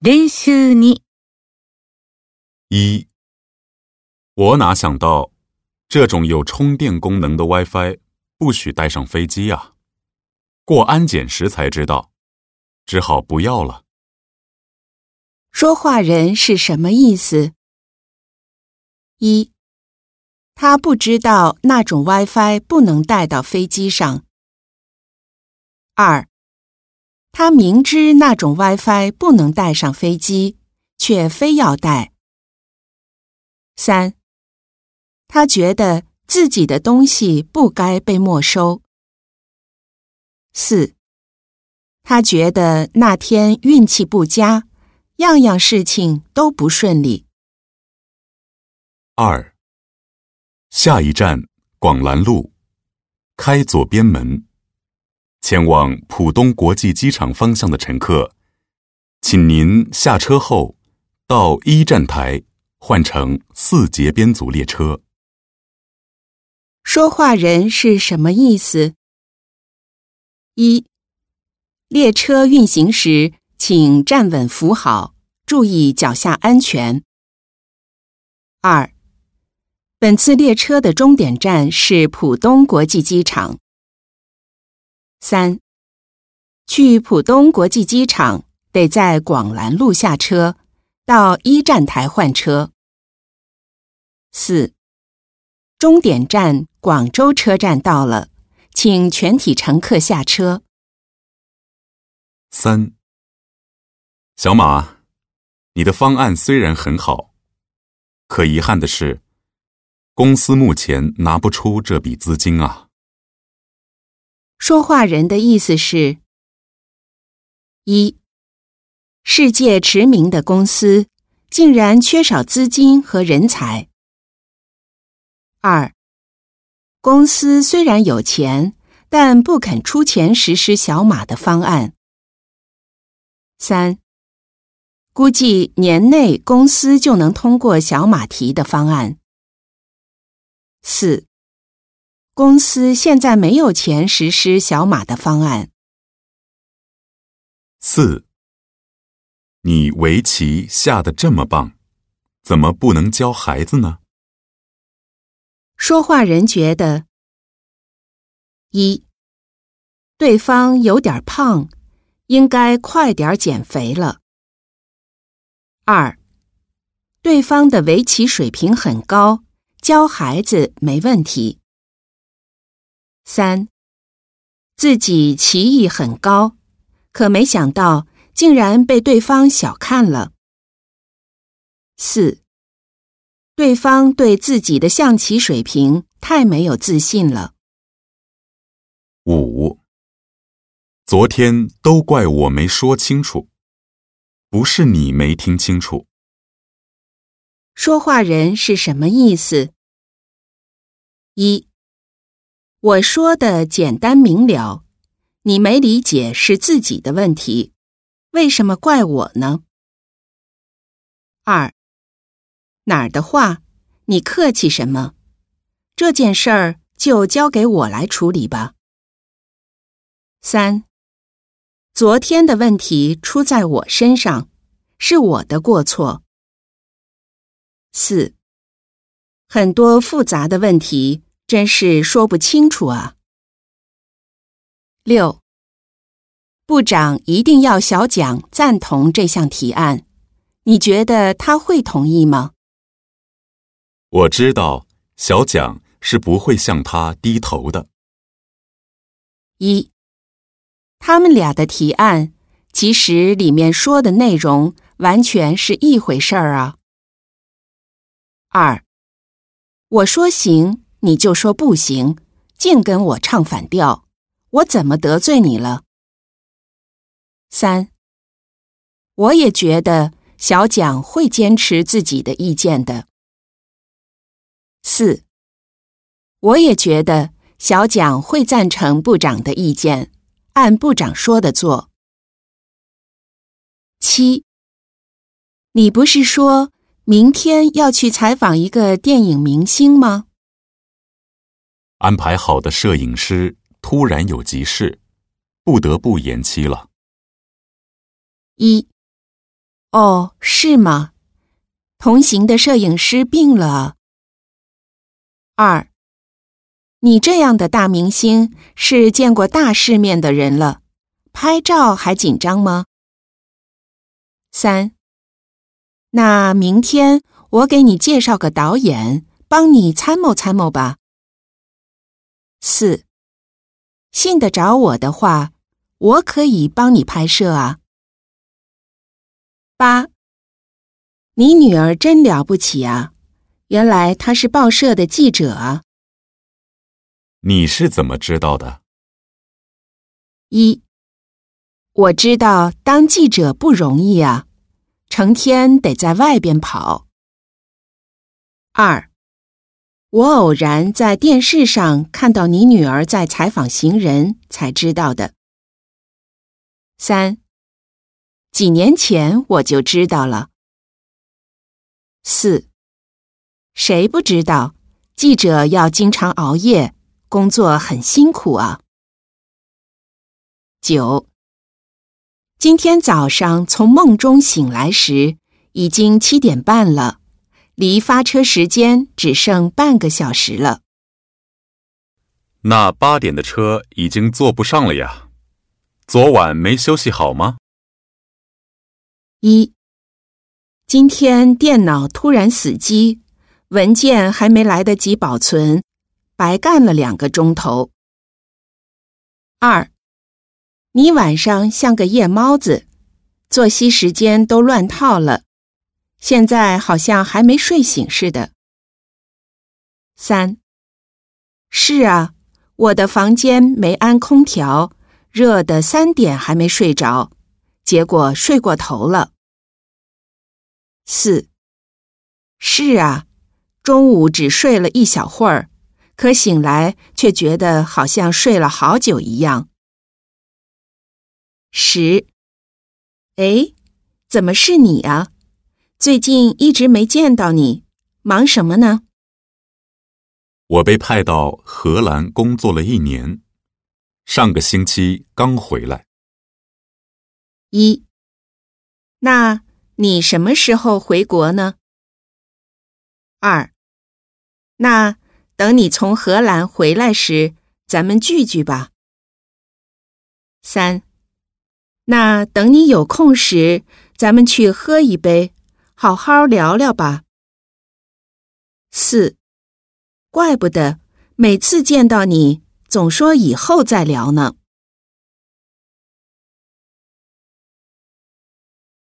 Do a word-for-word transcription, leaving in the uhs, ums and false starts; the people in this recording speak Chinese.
練習に。 一，我哪想到，这种有充电功能的 WiFi 不许带上飞机啊！过安检时才知道，只好不要了。 说话人是什么意思？一，他不知道那种 WiFi 不能带到飞机上。二，他明知那种 WiFi 不能带上飞机，却非要带。三，他觉得自己的东西不该被没收。四，他觉得那天运气不佳，样样事情都不顺利。 二，下一站广兰路，开左边门，前往浦东国际机场方向的乘客，请您下车后到一站台换乘四节编组列车。 说话人是什么意思？一，列车运行时，请站稳扶好，注意脚下安全。二，本次列车的终点站是浦东国际机场。三，去浦东国际机场得在广兰路下车，到一站台换车。四，终点站广州车站到了，请全体乘客下车。 三，小马，你的方案虽然很好，可遗憾的是，公司目前拿不出这笔资金啊。 说话人的意思是：一，世界驰名的公司竟然缺少资金和人才。二，公司虽然有钱，但不肯出钱实施小马的方案。三，估计年内公司就能通过小马提的方案。四，公司现在没有钱实施小马的方案。 四，你围棋下得这么棒，怎么不能教孩子呢？ 说话人觉得：一，对方有点胖，应该快点减肥了。二，对方的围棋水平很高，教孩子没问题。三，自己棋艺很高，可没想到竟然被对方小看了。四，对方对自己的象棋水平太没有自信了。 五，昨天都怪我没说清楚，不是你没听清楚。 说话人是什么意思？一，我说的简单明了，你没理解是自己的问题，为什么怪我呢？二，哪儿的话，你客气什么？这件事儿就交给我来处理吧。三，昨天的问题出在我身上，是我的过错。四，很多复杂的问题真是说不清楚啊。六，部长一定要小蒋赞同这项提案，你觉得他会同意吗？ 我知道小蒋是不会向他低头的。 一，他们俩的提案，其实里面说的内容完全是一回事儿啊。二，我说行，你就说不行，净跟我唱反调，我怎么得罪你了？三，我也觉得小蒋会坚持自己的意见的。四，我也觉得小蒋会赞成部长的意见，按部长说的做。七，你不是说明天要去采访一个电影明星吗？ 安排好的摄影师突然有急事，不得不延期了。 一， 哦，是吗？同行的摄影师病了。二，你这样的大明星是见过大世面的人了，拍照还紧张吗？三，那明天我给你介绍个导演，帮你参谋参谋吧。四，信得着我的话，我可以帮你拍摄啊。八，你女儿真了不起啊，原来她是报社的记者啊。 你是怎么知道的？ 一，我知道当记者不容易啊，成天得在外边跑。二，我偶然在电视上看到你女儿在采访行人，才知道的。三，几年前我就知道了。四，谁不知道，记者要经常熬夜，工作很辛苦啊。九，今天早上从梦中醒来时，已经七点半了，离发车时间只剩半个小时了。 那八点的车已经坐不上了呀，昨晚没休息好吗？ 一，今天电脑突然死机，文件还没来得及保存，白干了两个钟头。二，你晚上像个夜猫子，作息时间都乱套了，现在好像还没睡醒似的。三，是啊，我的房间没安空调，热得三点还没睡着，结果睡过头了。四，是啊，中午只睡了一小会儿，可醒来却觉得好像睡了好久一样。十，哎，怎么是你啊？最近一直没见到你，忙什么呢？ 我被派到荷兰工作了一年，上个星期刚回来。 一，那你什么时候回国呢？二，那等你从荷兰回来时，咱们聚聚吧。三，那等你有空时，咱们去喝一杯，好好聊聊吧。四，怪不得每次见到你，总说以后再聊呢。